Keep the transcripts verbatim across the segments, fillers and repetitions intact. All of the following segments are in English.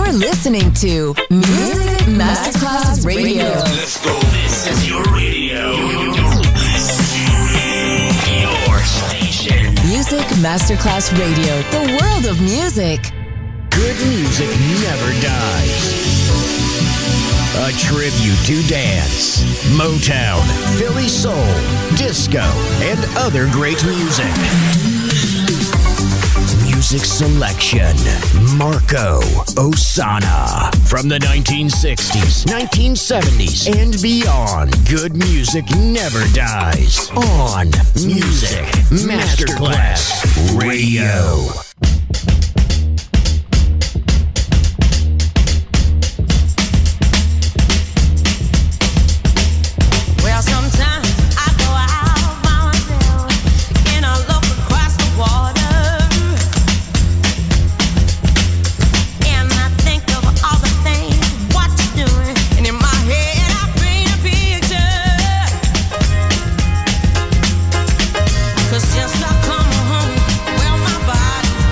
You're listening to Music Masterclass Radio. Let's go. This is your radio. Your station. Music Masterclass Radio. The world of music. Good music never dies. A tribute to dance, Motown, Philly soul, disco, and other great music. Music selection, Marco Ossanna. From the nineteen sixties, nineteen seventies, and beyond, good music never dies. On Music Masterclass Radio. Just like come home, well my body's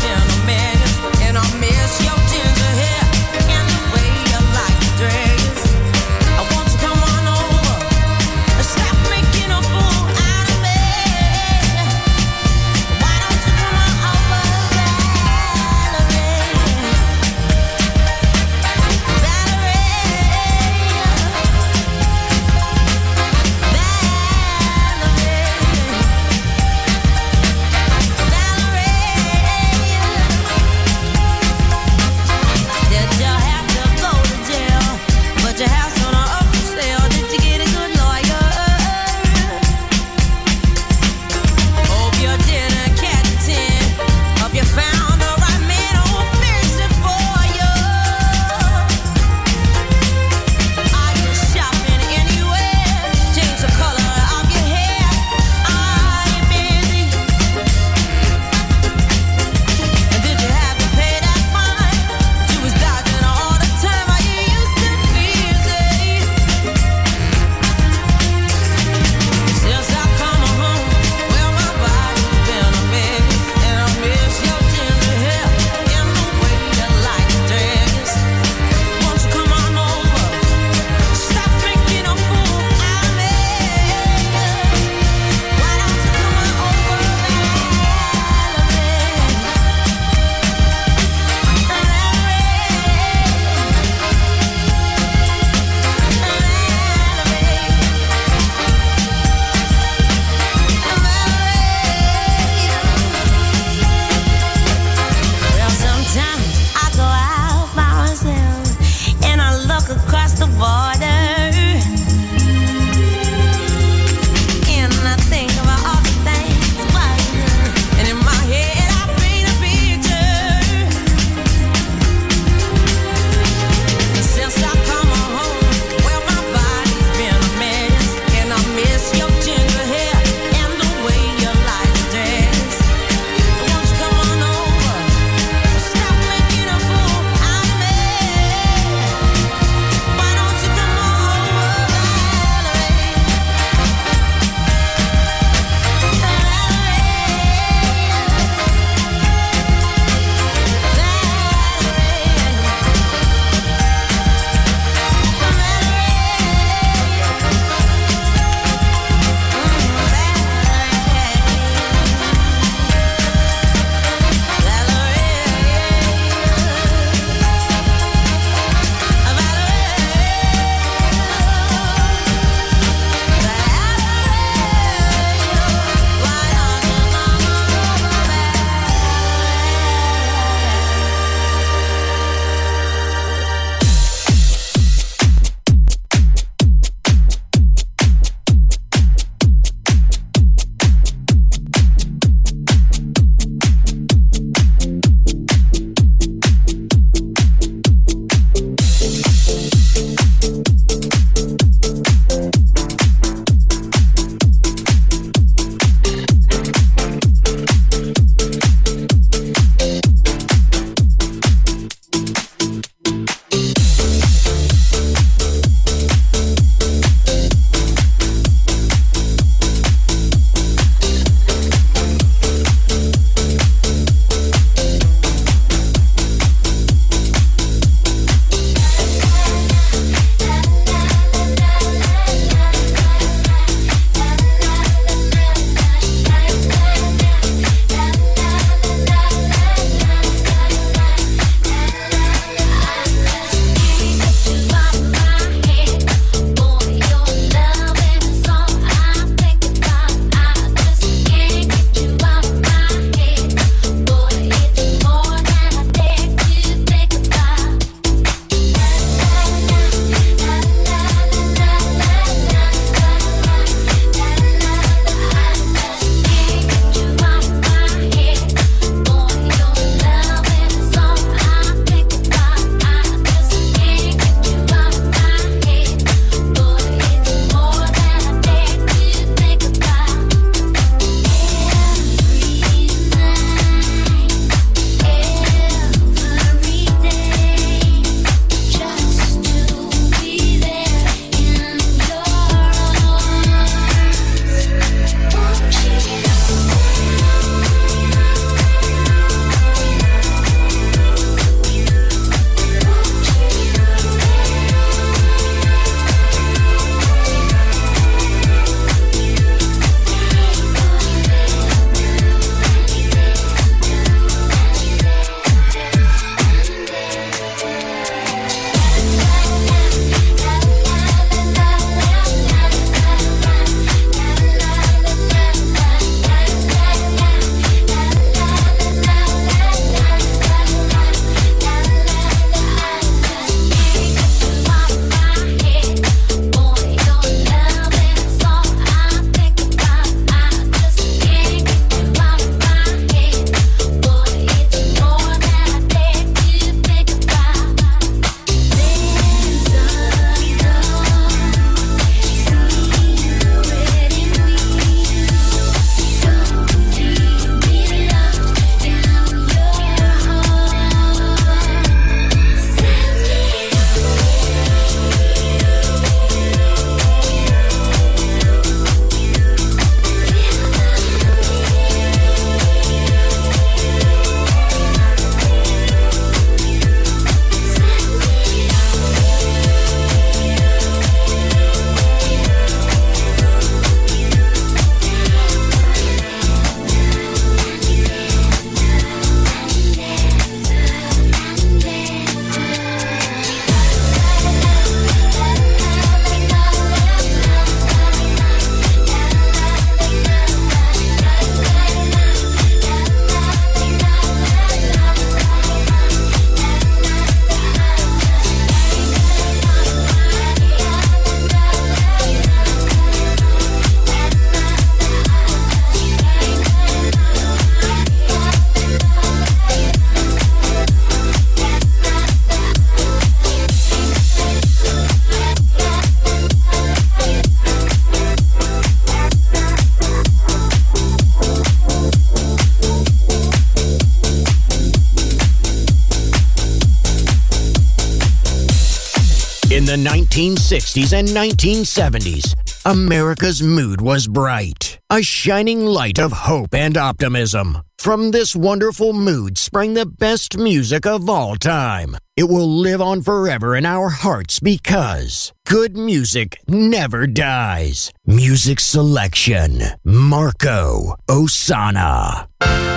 In the nineteen sixties and nineteen seventies, America's mood was bright, a shining light of hope and optimism. From this wonderful mood sprang the best music of all time. It will live on forever in our hearts because good music never dies. Music selection, Marco Ossanna.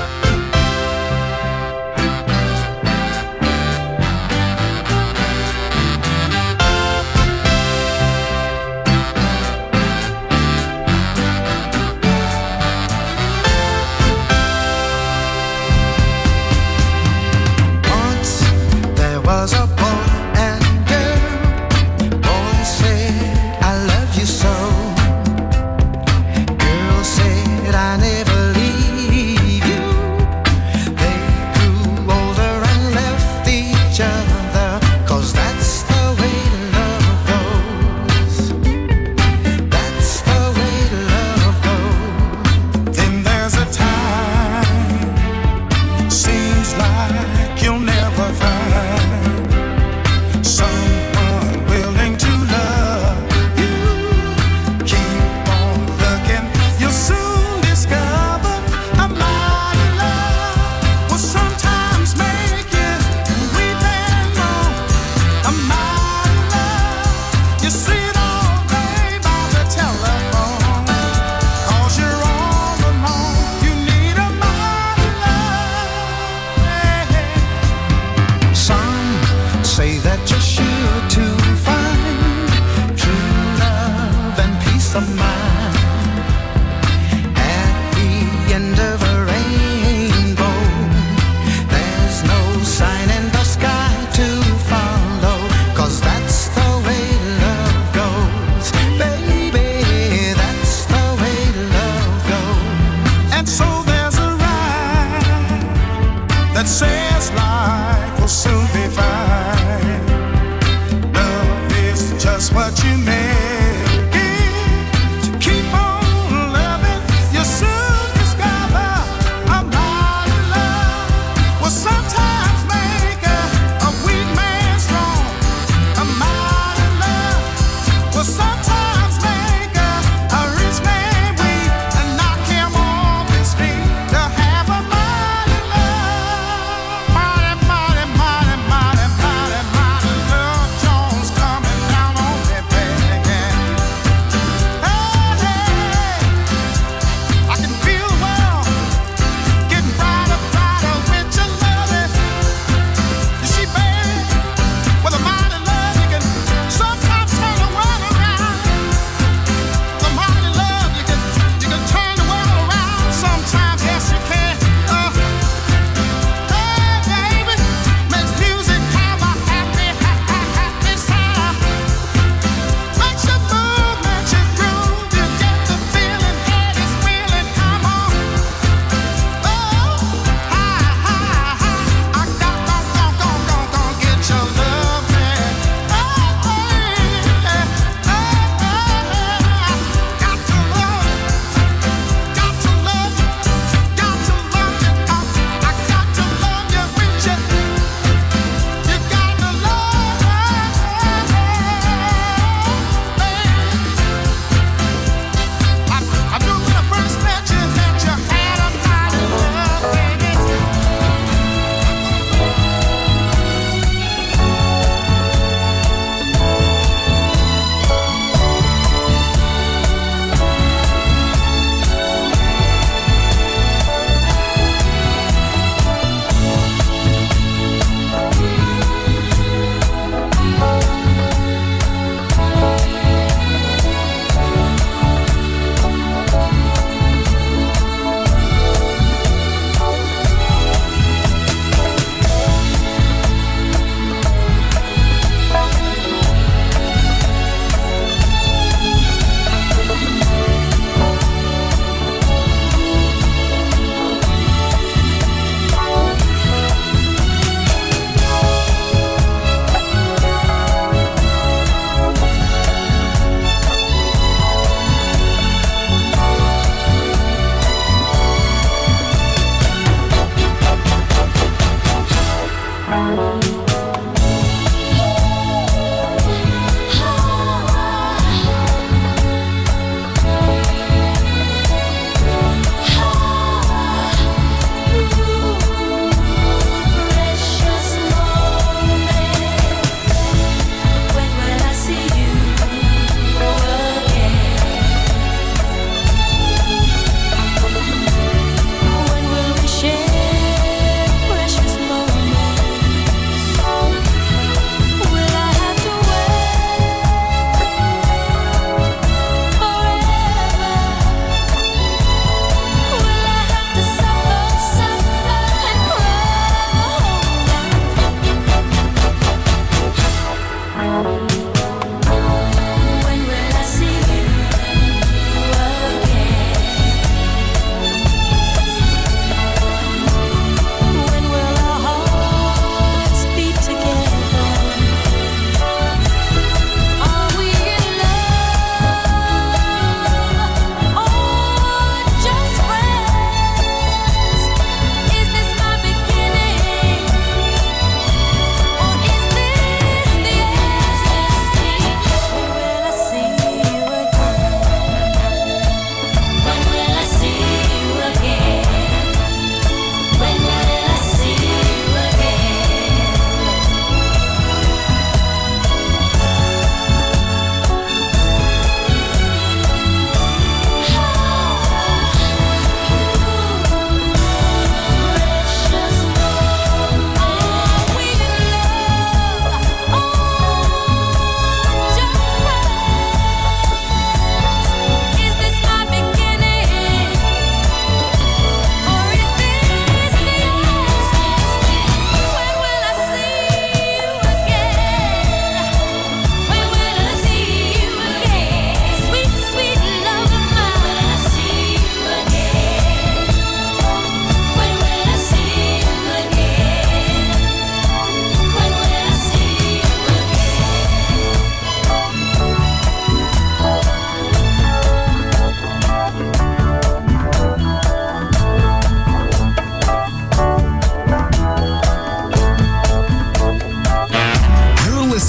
Was a boy and girl. Boy said, I love you so. Girl said, I never leave you.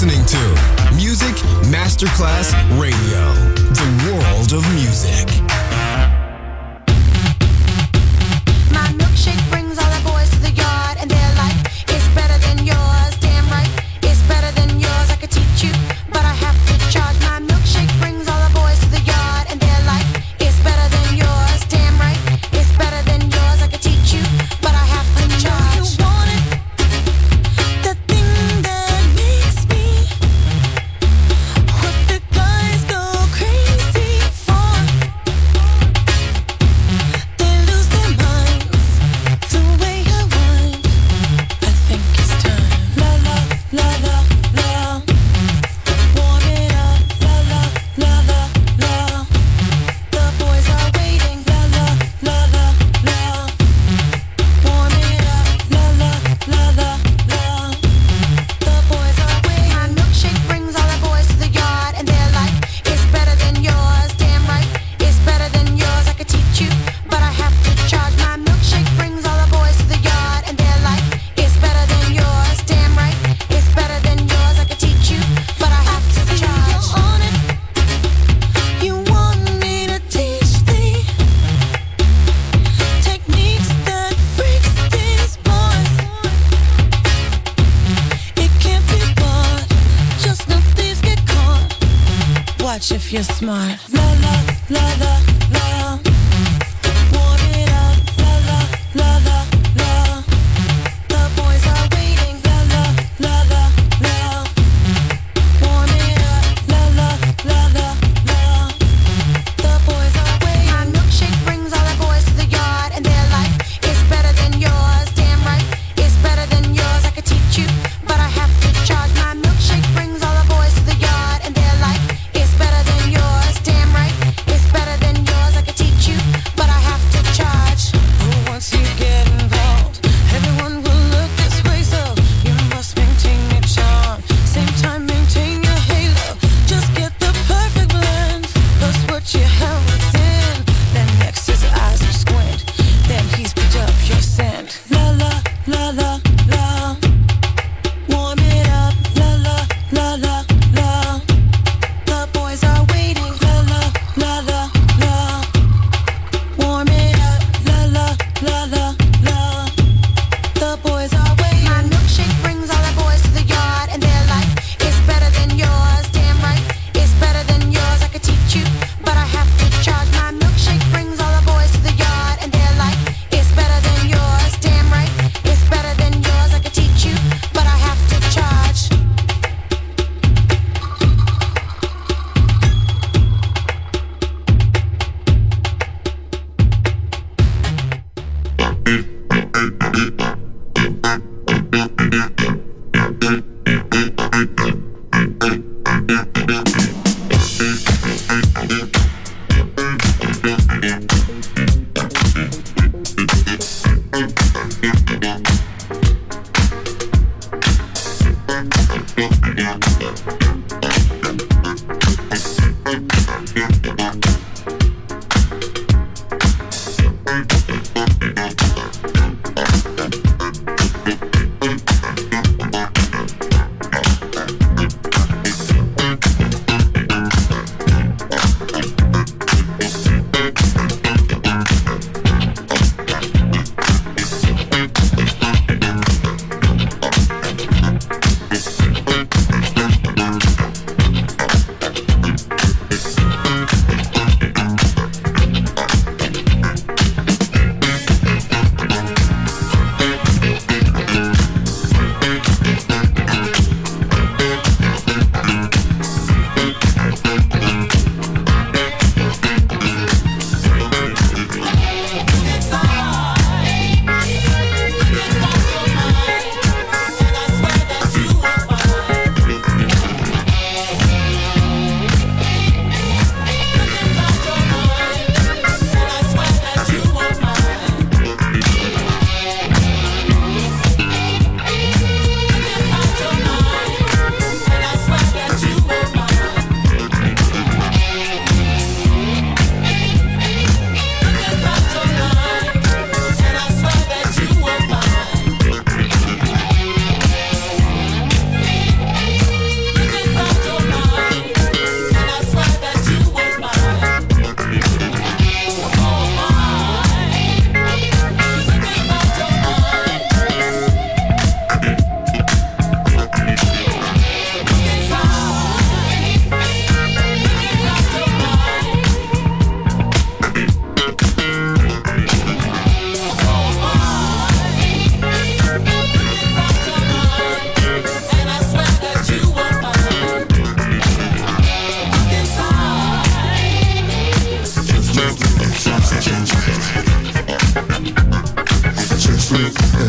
listening to Music Masterclass Radio, the world of music. My milkshake brings all the boys to the yard, and they're like, it's better than yours. Damn right, it's better than yours. I could teach you, but I have to charge. My milkshake brings all the boys to the yard, and they're like, it's better than yours. Damn right, it's better than yours. I could teach you, but I have to charge. You want it, the thing that makes me what the guys go crazy for. They lose their minds the way I want. I think it's time. La la la la la. Warm it up. La la la la la. The boys are waiting. La la la la la. Warm it up. La la la la la. The boys are waiting. My milkshake brings all the boys to the yard, and they're like, it's better than yours. Damn right, it's better than yours. I could teach you, but I have to charge. My milkshake brings all the boys to the yard, and they're like, it's better than yours. Damn right, it's better than yours. I could teach you, but I have to charge. You're on it. You want me to teach thee techniques that freaks these boys. It can't be bought. Just know thieves get caught. Watch if you're smart. La la la la la. Warm it up. La la la la la. The boys are waiting. La la la la la. Warm it up. La la la la la. The boys are waiting. My milkshake brings all the boys to the yard, and they're like, it's better than yours. Damn right, it's better than yours. I could teach you, but I have to charge. My milkshake brings all the boys to the yard, and they're like, it's better than yours. Damn right, it's better than yours. I could teach you, but I have to charge. Oh, once you get involved, everyone will look this way, so you must maintain your charm. Same time, maintain your halo. Just get the perfect blend. That's what you have within. Then next his eyes will squint. Then he's picked up your scent. La la la la la. Warm it up. La la la la la. The boys are waiting. La la la la la. Warm it up. La la la la la. The boys are waiting. My milkshake brings all the boys to the yard, and they're like, it's better than yours. Damn right, it's better than yours. I could teach you, but I have to charge. My milkshake brings all the boys to the yard, and they're like, it's better than yours. Damn right, it's better than yours. I could teach you, but I have to charge.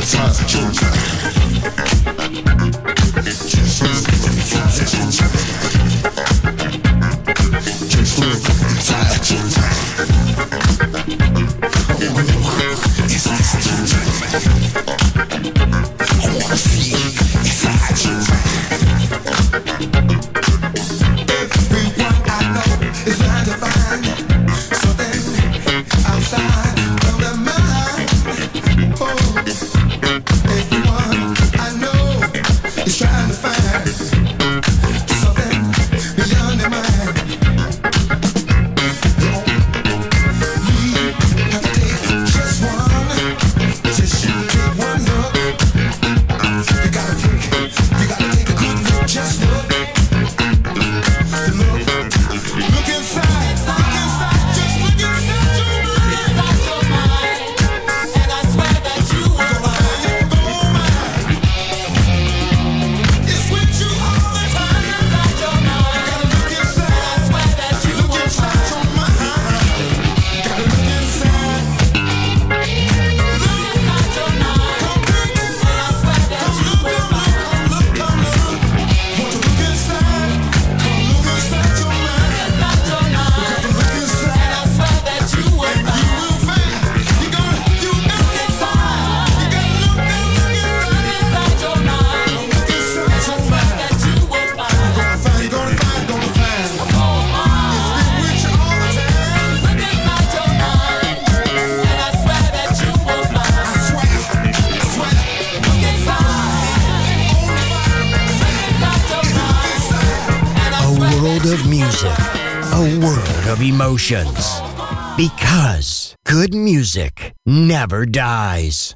Emotions, because good music never dies.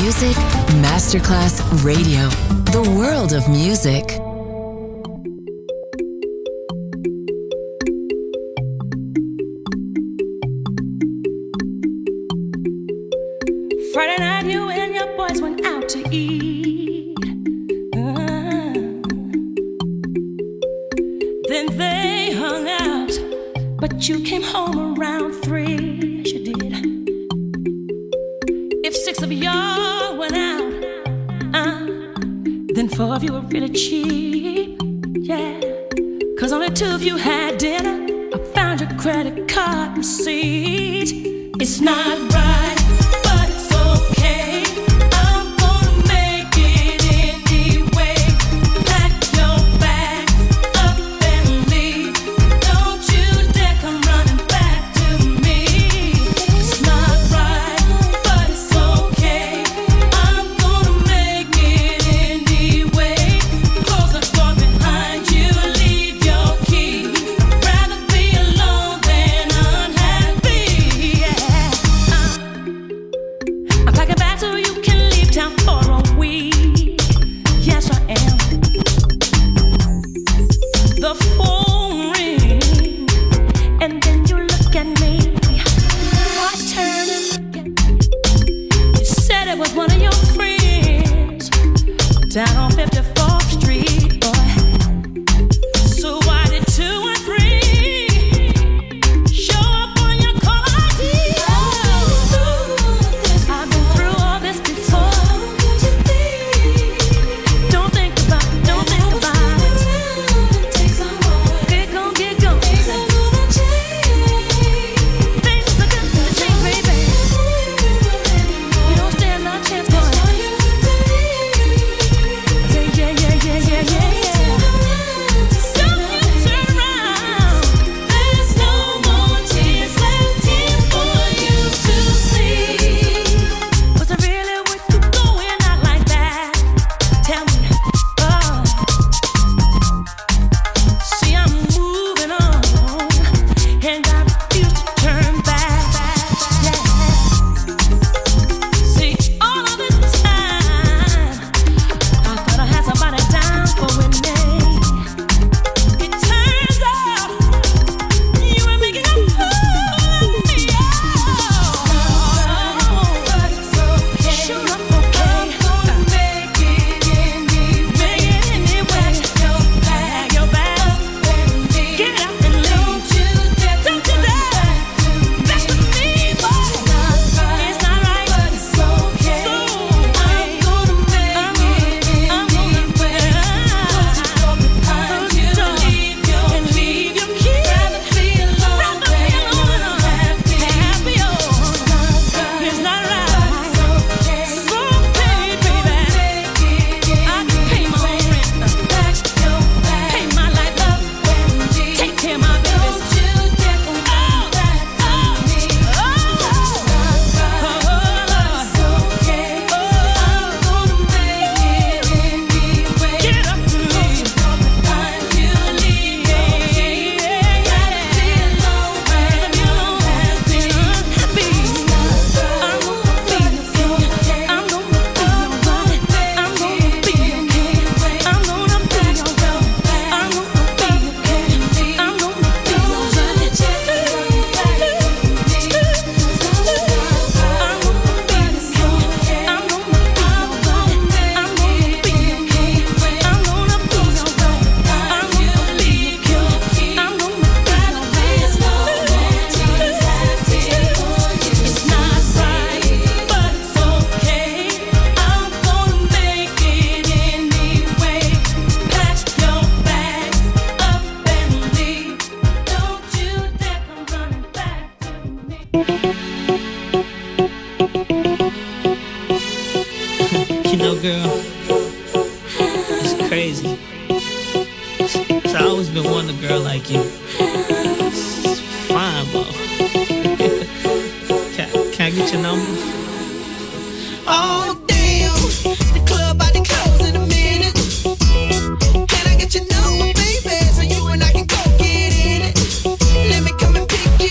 Music Masterclass Radio. The world of music. Friday night, you and your boys went out to eat. Uh, then they hung out, but you came home around three. Yes, you did. If six of y'all went out, uh, then four of you were really cheap. Yeah, cause only two of you had dinner. I found your credit card receipt. It's not right.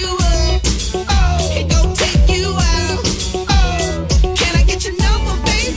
Baby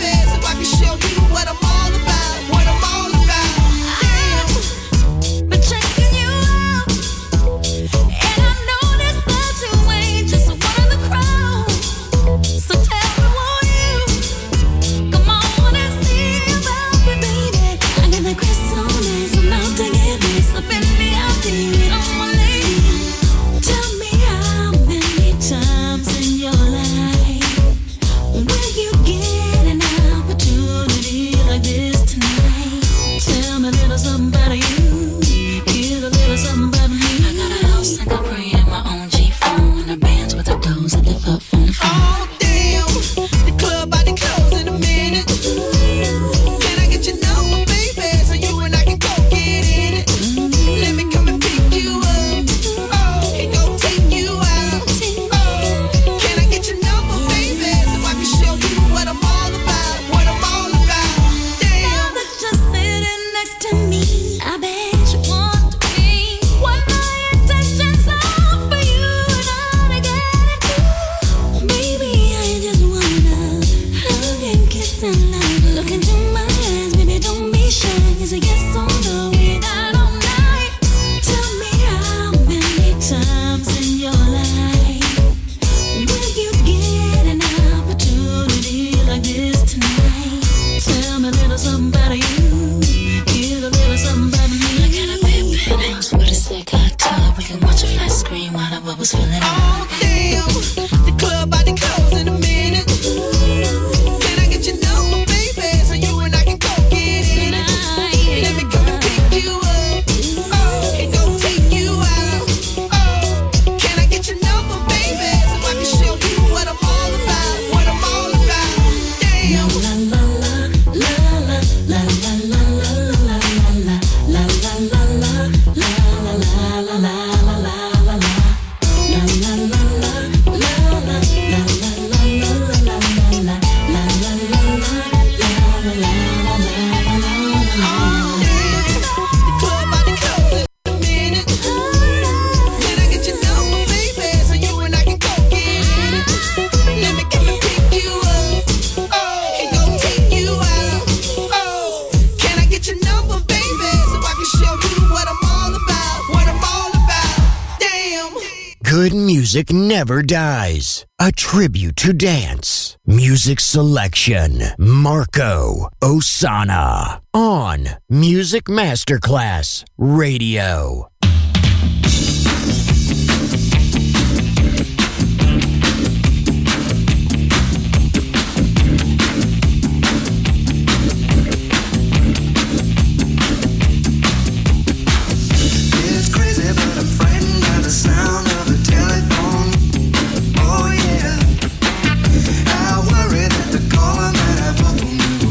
I scream while the bubbles filling up. Oh damn, the club about to close in a minute. Can I get your number, baby, so you and I can go get in it? Let me come and pick you up, oh, and go take you out. Oh, can I get your number, baby, so I can show you what I'm all about, what I'm all about? Damn. La la la la la la la la la la la la la la la la la la. Good music never dies. A tribute to dance. Music selection. Marco Ossanna. On Music Masterclass Radio.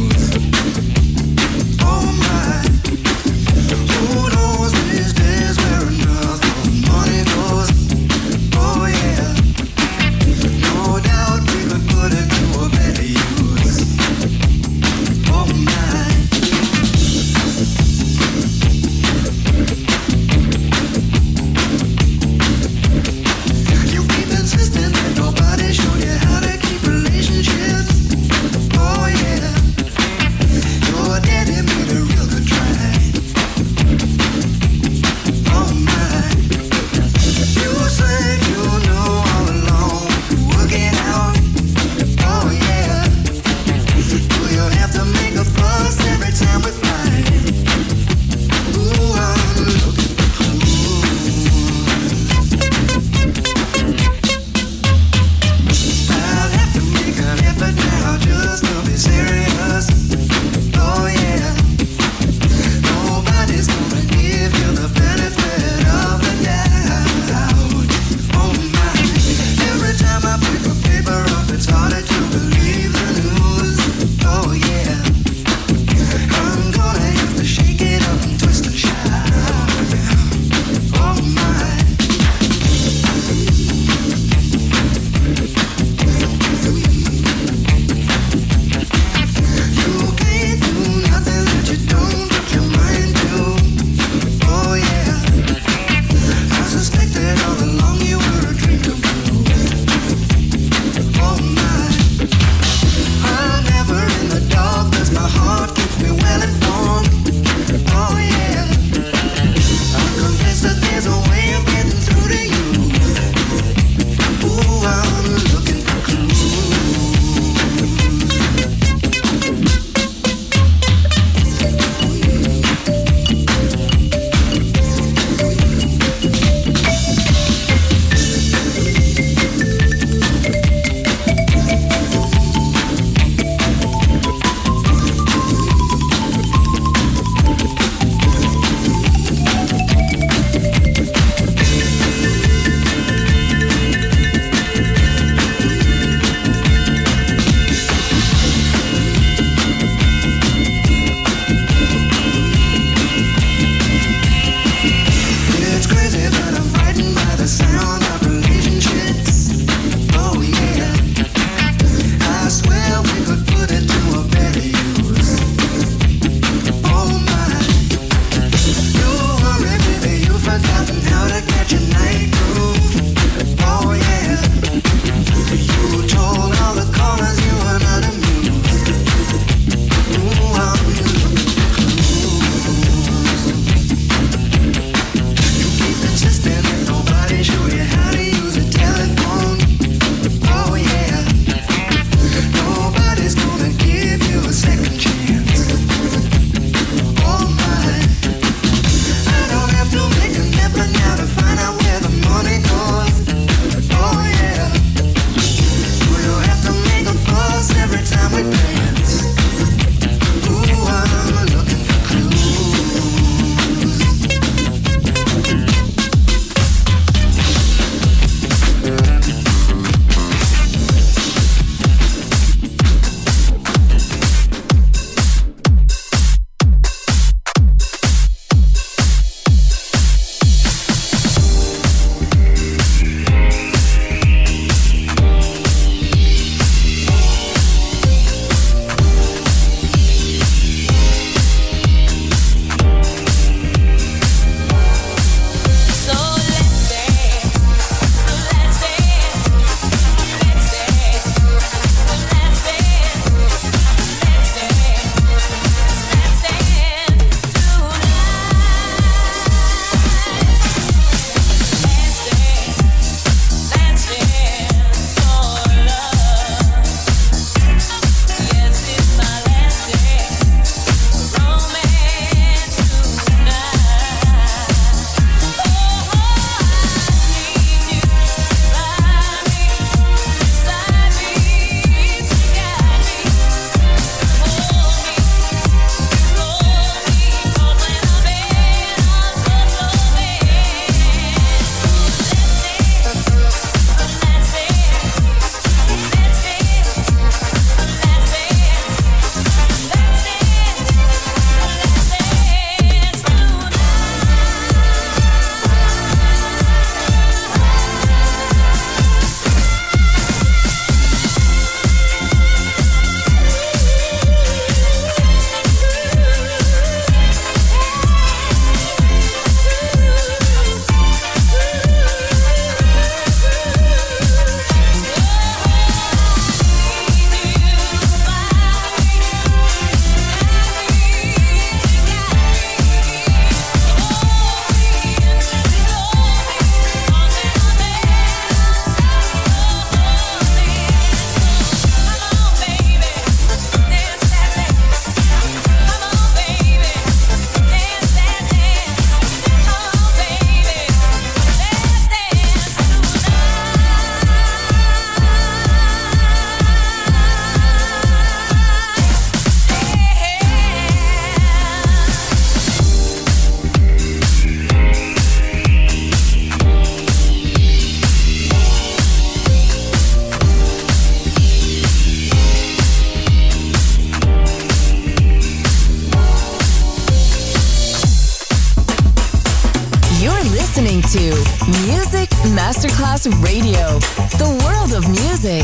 Who knows these days where Masterclass Radio, the world of music.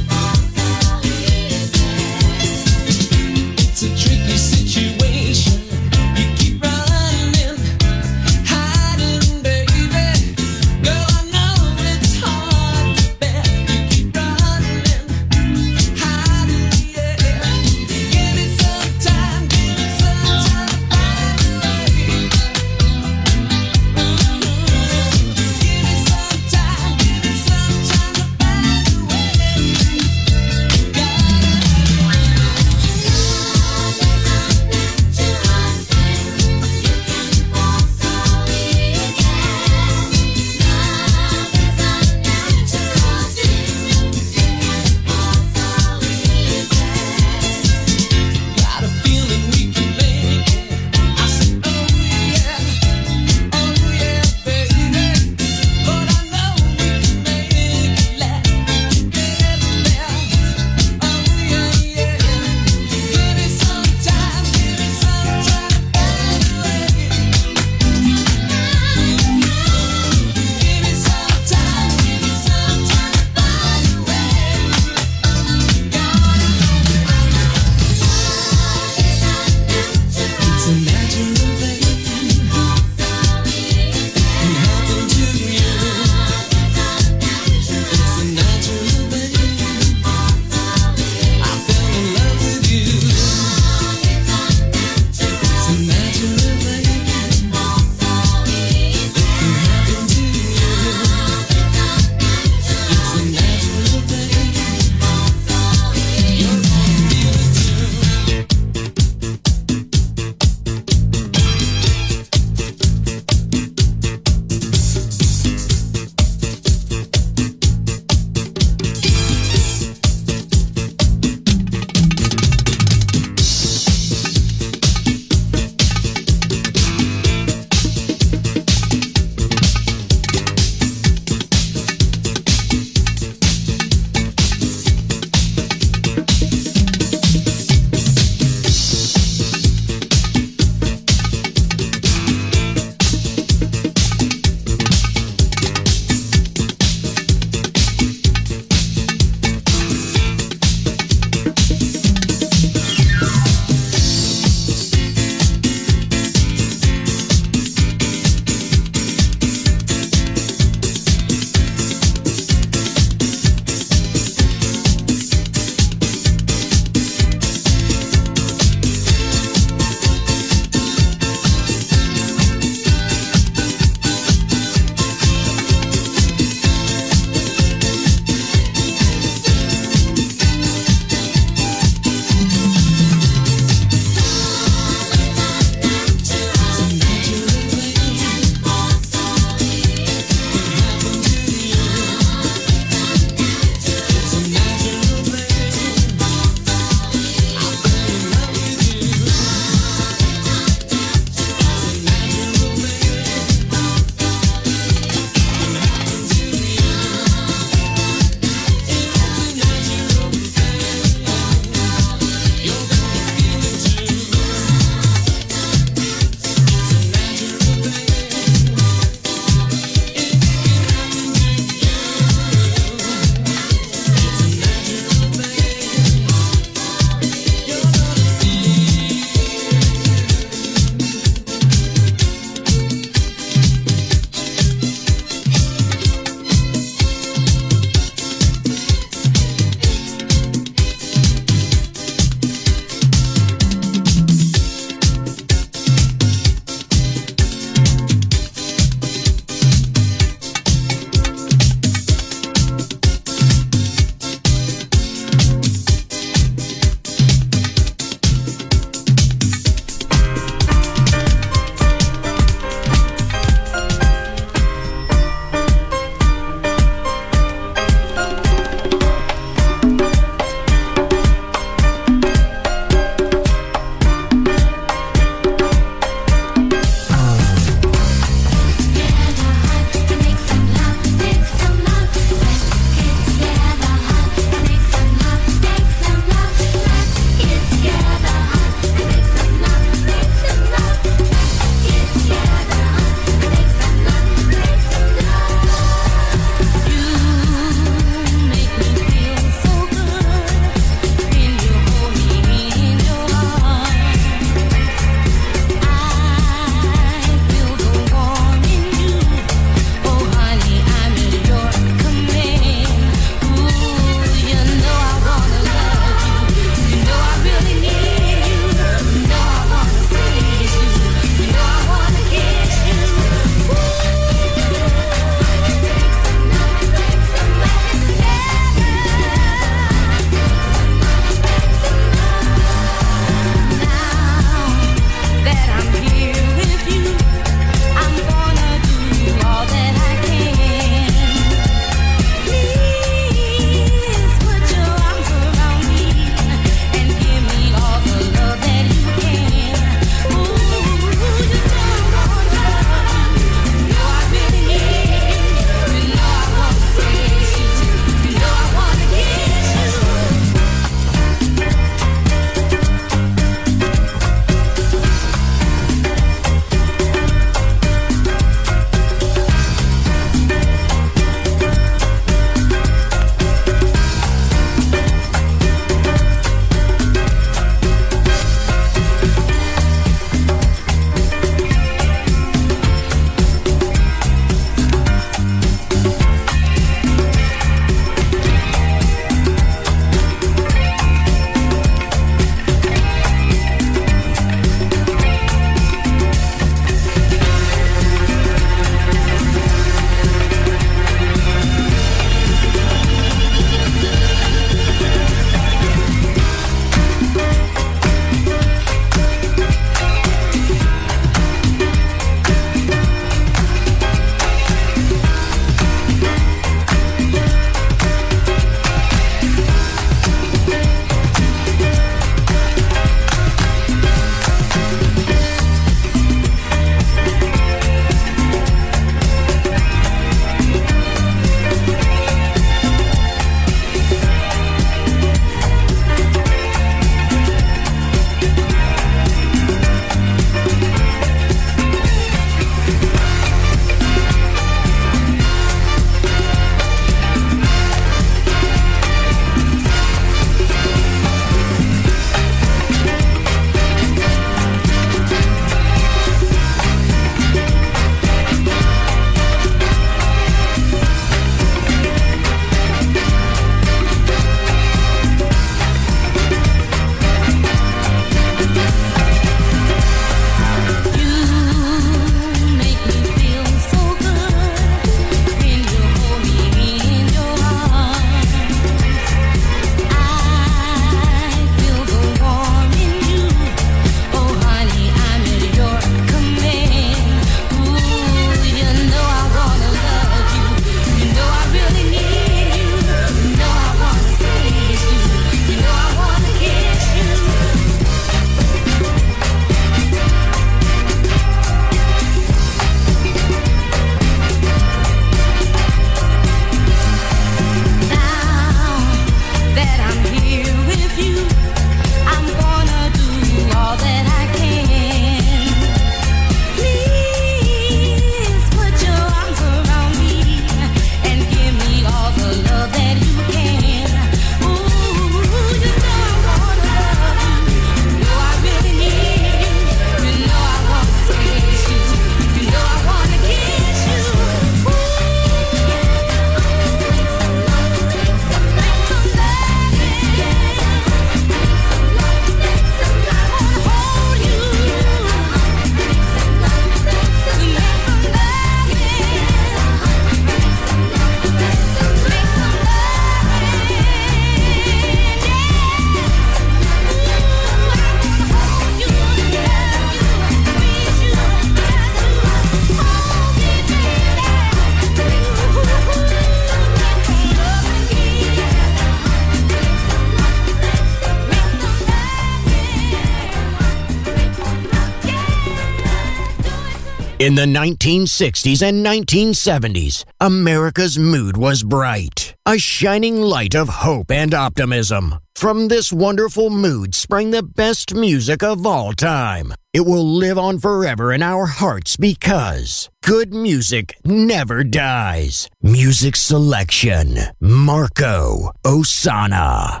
In the nineteen sixties and nineteen seventies, America's mood was bright, a shining light of hope and optimism. From this wonderful mood sprang the best music of all time. It will live on forever in our hearts because good music never dies. Music selection, Marco Ossanna.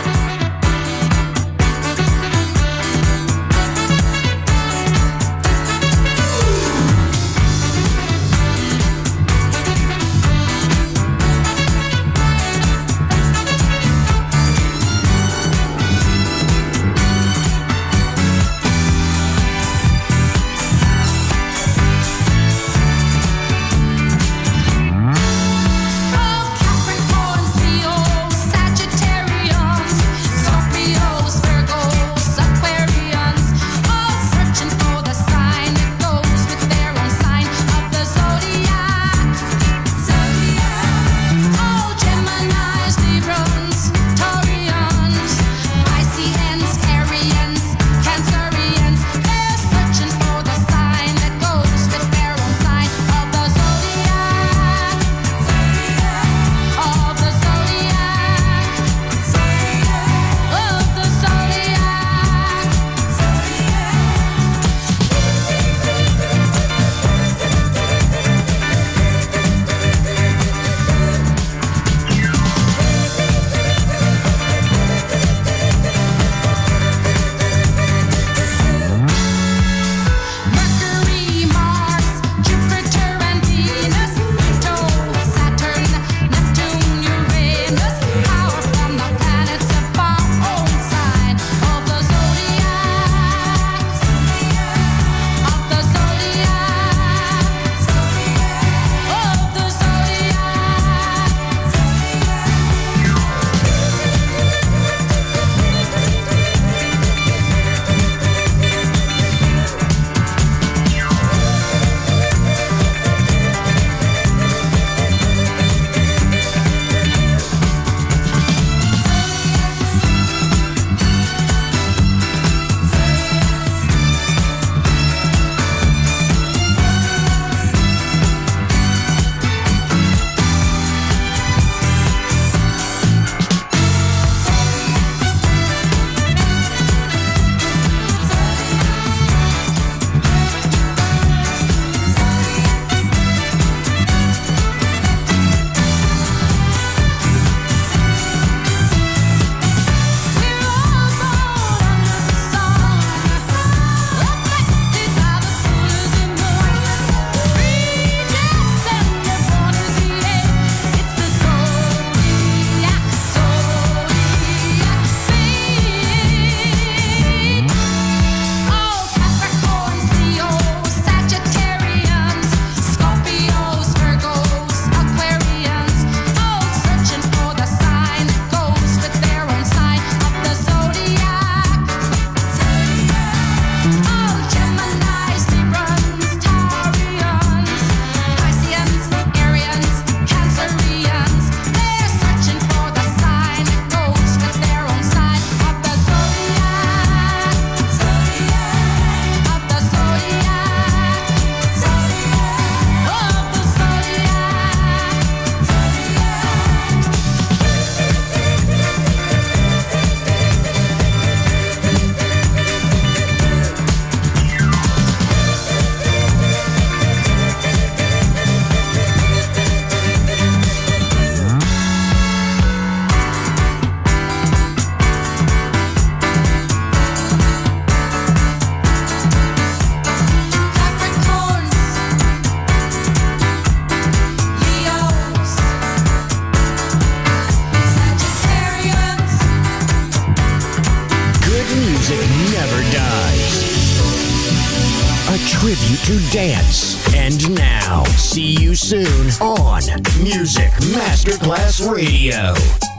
tribute to dance. And now, see you soon on Music Masterclass Radio.